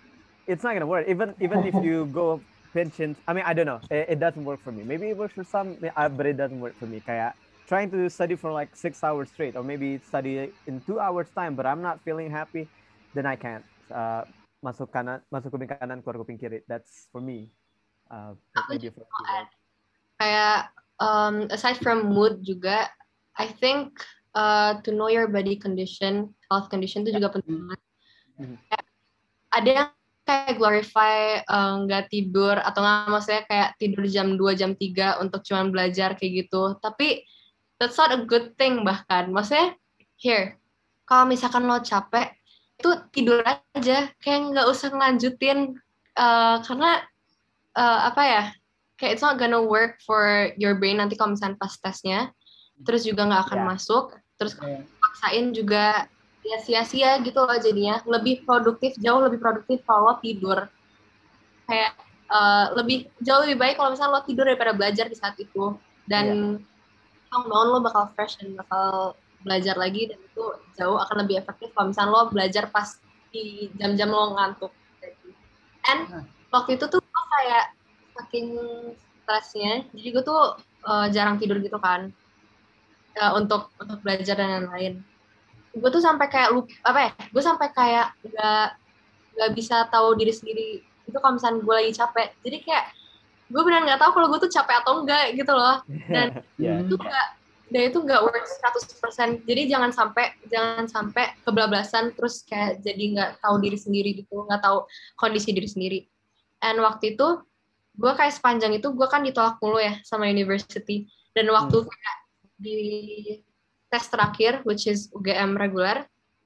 it's not gonna work. Even if you go pension, I mean, I don't know. It doesn't work for me. Maybe it works for some, but it doesn't work for me. Kayak trying to study for like 6 hours straight, or maybe study in 2 hours time, but I'm not feeling happy, then I can't. Masuk kuping kanan, keluar kuping kiri. That's for me. Aku Maybe juga for mau you. add, kayak aside from mood juga, I think to know your body condition, health condition itu juga penting banget. Ada yang kayak glorify nggak tidur atau nggak, maksudnya kayak tidur jam 2, jam 3 untuk cuma belajar kayak gitu. Tapi that's not a good thing bahkan. Maksudnya, kalau misalkan lo capek, itu tidur aja. Kayak nggak usah ngelanjutin. Karena, apa ya, kayak it's not gonna work for your brain nanti kalau misalkan pas tesnya. Terus juga nggak akan masuk. Terus kalau paksain juga ya sia-sia gitu loh jadinya. Jauh lebih produktif kalau lo tidur. Kayak jauh lebih baik kalau misalnya lo tidur daripada belajar di saat itu. Dan bangun lo bakal fresh dan bakal belajar lagi, dan itu jauh akan lebih efektif kalau misalnya lo belajar pas di jam-jam lo ngantuk. And waktu itu tuh gue kayak saking stresnya, jadi gue tuh jarang tidur gitu kan, untuk belajar dan lain-lain. Gue tuh sampai kayak gue sampai kayak nggak bisa tahu diri sendiri itu kalau misalnya gue lagi capek. Jadi kayak gue benar nggak tahu kalau gue tuh capek atau enggak gitu loh. Dan itu nggak work 100%. Jadi jangan sampai kebablasan terus kayak jadi nggak tahu diri sendiri gitu, nggak tahu kondisi diri sendiri. And waktu itu gue kayak sepanjang itu gue kan ditolak mulu ya sama university. Dan waktu kayak di tes terakhir, which is UGM reguler,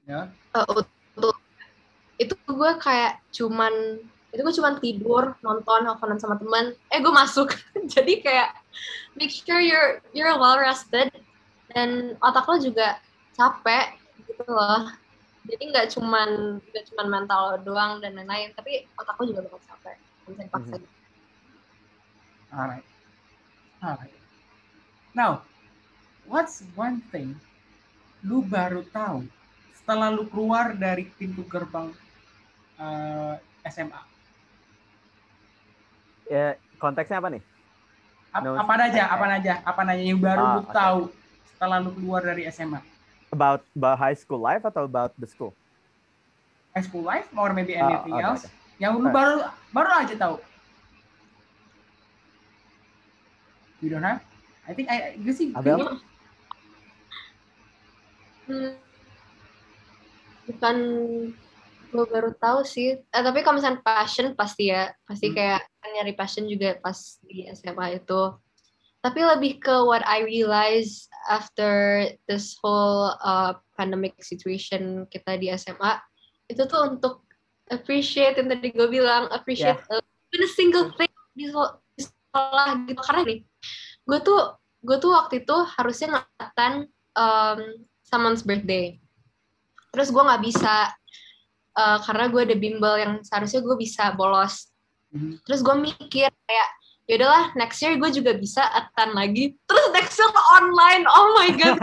itu gue kayak cuman tidur, nonton, teleponan sama teman, gue masuk. Jadi kayak make sure you're well rested dan otak lo juga capek gitu loh. Jadi nggak cuman mental doang dan lain-lain, tapi otak lo juga bakal capek. Bisa dipaksa. Alright. Now, what's one thing lu baru tahu setelah lu keluar dari pintu gerbang SMA? Ya, konteksnya apa nih? Apa aja yang baru lu tahu setelah lu keluar dari SMA? About high school life atau about the school? High school life or maybe anything else? Yang lu baru aja tahu. You don't have? I think gue sih. Abel? Bukan gue baru tahu sih. Tapi kalau misalnya passion pasti kayak nyari passion juga pas di SMA itu. Tapi lebih ke what I realize after this whole pandemic situation kita di SMA, itu tuh untuk appreciate yang tadi gue bilang, appreciate even a single thing di sekolah gitu. Karena nih, gue tuh waktu itu harusnya ngeliatan someone's birthday. Terus gue nggak bisa karena gue ada bimbel yang seharusnya gue bisa bolos. Terus gue mikir kayak yaudahlah next year gue juga bisa attend lagi. Terus next year online, oh my god.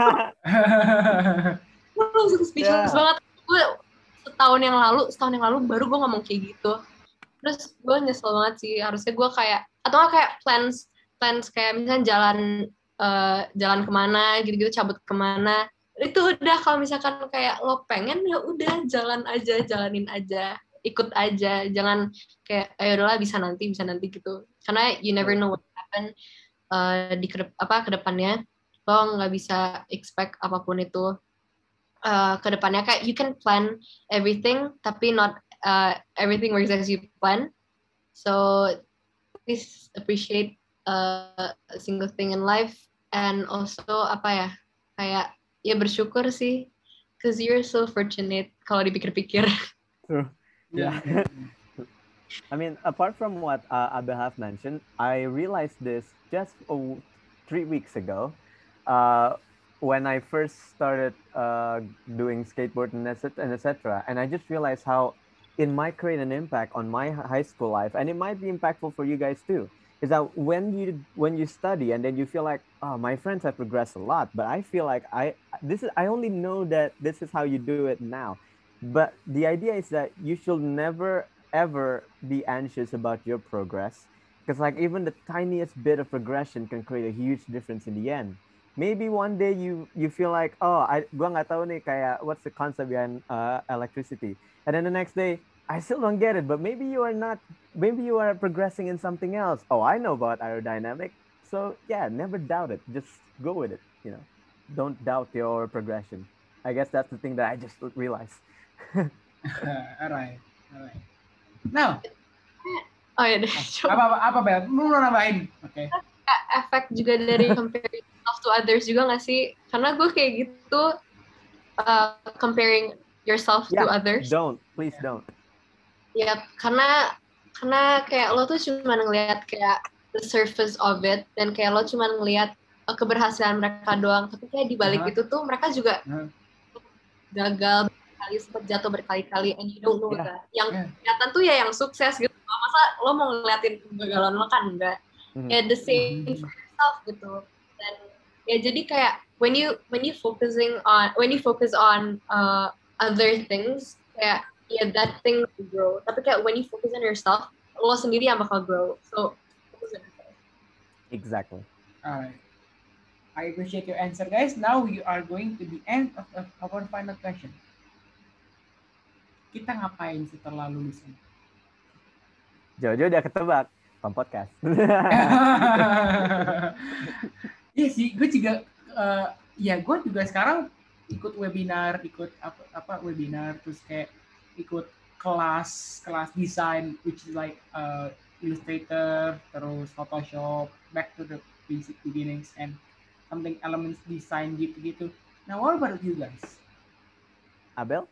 Gue langsung speechless banget. Gue setahun yang lalu baru gue ngomong kayak gitu. Terus gue nyesel banget sih. Harusnya gue kayak atau kayak plans kayak misalnya jalan kemana gitu-gitu, cabut kemana. Itu udah kalau misalkan kayak lo pengen ya udah jalanin aja, ikut aja, jangan kayak ayo udahlah bisa nanti gitu, karena you never know what happen kedepannya. Lo nggak bisa expect apapun itu kedepannya. Kayak you can plan everything tapi not everything works as you plan. So please appreciate a single thing in life, and also kayak ya bersyukur sih, cause you're so fortunate kalau dipikir-pikir. True. Yeah. I mean, apart from what Abel have mentioned, I realized this just 3 weeks ago when I first started doing skateboard and etc. And I just realized how it might create an impact on my high school life, and it might be impactful for you guys too. Is that when you study and then you feel like, oh, my friends have progressed a lot, but I feel like I only know that this is how you do it now. But the idea is that you should never ever be anxious about your progress, because like even the tiniest bit of progression can create a huge difference in the end. Maybe one day you feel like, oh, gua nggak tahu nih kayak what's the concept behind electricity, and then the next day I still don't get it, but maybe you are not, maybe you are progressing in something else. Oh, I know about aerodynamic. So yeah, never doubt it. Just go with it. Don't doubt your progression. I guess that's the thing that I just realized. Alright. Now, Oh ya deh, apa Bel? Lu mau nambahin? Oke. efek juga dari comparing yourself to others juga nggak sih? Karena gue kayak gitu, comparing yourself to others. Please don't. Ya, karena kayak lo tuh cuma ngelihat kayak the surface of it, dan kayak lo cuma ngelihat keberhasilan mereka doang, tapi kayak di balik itu tuh mereka juga gagal berkali, sempat jatuh berkali-kali, and you don't know that. Yang kelihatan tuh ya yang sukses gitu. Masa lo mau ngeliatin kegagalan lo, kan enggak. Ya the same for yourself gitu. Dan ya jadi kayak when you focus on other things, kayak that thing will grow. Tapi kayak when you focus on yourself, lo sendiri yang bakal grow. So focus on yourself. Exactly. Alright. I appreciate your answer, guys. Now we are going to the end of our final question. Kita ngapain setelah lulusan? Jojo udah ketebak, Pam Podcast. Iya sih, gue juga gue juga sekarang ikut webinar, webinar, terus kayak ikut kelas desain, which is like Illustrator, terus Photoshop, back to the basic beginnings and something elements design gitu. Now what about you guys? Abel?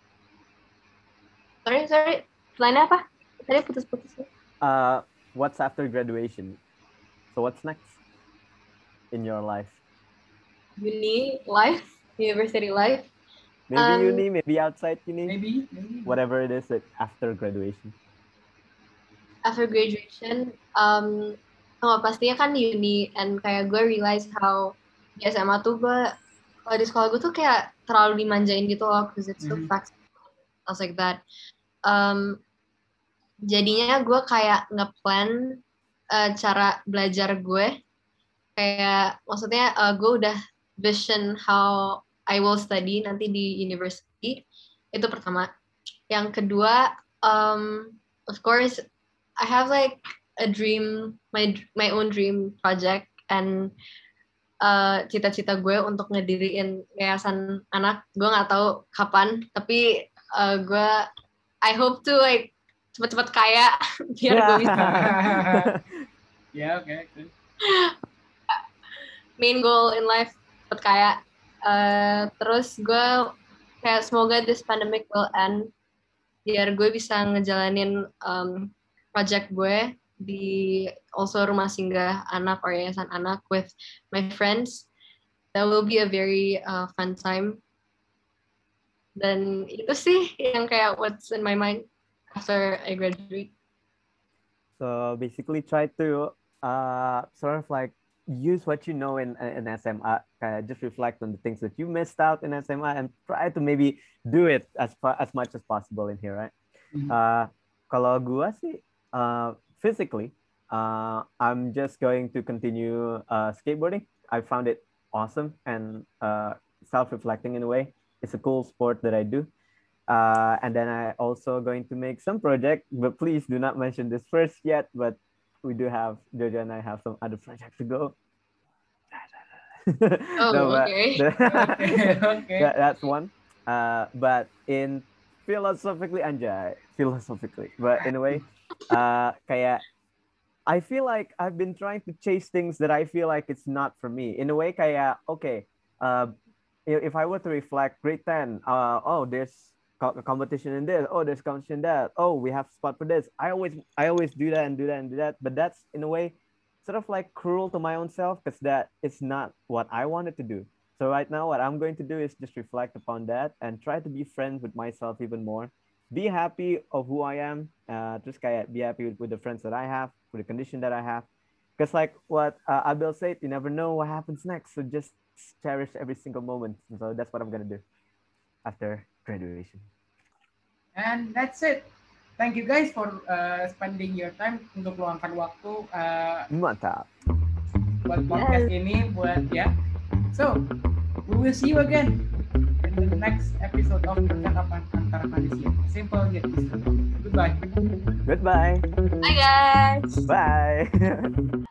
Sorry. Lainnya apa? Tadi putus-putus. What's after graduation? So what's next in your life? Uni life, university life. Maybe uni, maybe outside uni. Maybe. Whatever it is after graduation. After graduation, pastinya kan uni, and kayak gue realize how di SMA tuh kalau di sekolah gue tuh kayak terlalu dimanjain gitu loh, because it's so flexible, stuff like that. Jadinya gue kayak nge-plan cara belajar gue, kayak maksudnya gue udah vision how I will study nanti di university, itu pertama. Yang kedua, of course I have like a dream, my own dream project, and cita-cita gue untuk ngediriin yayasan anak. Gue nggak tahu kapan, tapi I hope to like cepet-cepet kaya biar gue bisa. Yeah, okay. Main goal in life cepet kaya. Terus gue kayak semoga this pandemic will end biar gue bisa ngejalanin project gue di also rumah singgah anak or yayasan anak with my friends. That will be a very fun time. Dan itu sih yang kayak what's in my mind after I graduate. So basically try to sort of like use what you know in SMA, kayak just reflect on the things that you missed out in SMA and try to maybe do it as much as possible in here, right? Kalau gua sih physically, I'm just going to continue skateboarding. I found it awesome and self-reflecting in a way. It's a cool sport that I do. And then I also going to make some project, but please do not mention this first yet, but we do have, Jojo and I have some other projects to go. Okay. Okay. That's one. But in philosophically, but in a way, kayak, I feel like I've been trying to chase things that I feel like it's not for me. In a way, kayak, okay, if I were to reflect grade 10, there's competition in this, there's competition in that, we have spot for this. I always do that, but that's in a way sort of like cruel to my own self, because that is not what I wanted to do. So right now what I'm going to do is just reflect upon that and try to be friends with myself even more, be happy of who I am, just kayak be happy with the friends that I have, with the condition that I have, because like what Abel said, you never know what happens next, so just cherish every single moment. So that's what I'm gonna do after graduation. And that's it. thank you guys for spending your time untuk luangkan waktu Mantap. buat podcast ini, buat ya. So, we will see you again in the next episode of Percakapan Antar Manusia. Simple yet easy. Goodbye. Goodbye. Bye guys. Bye.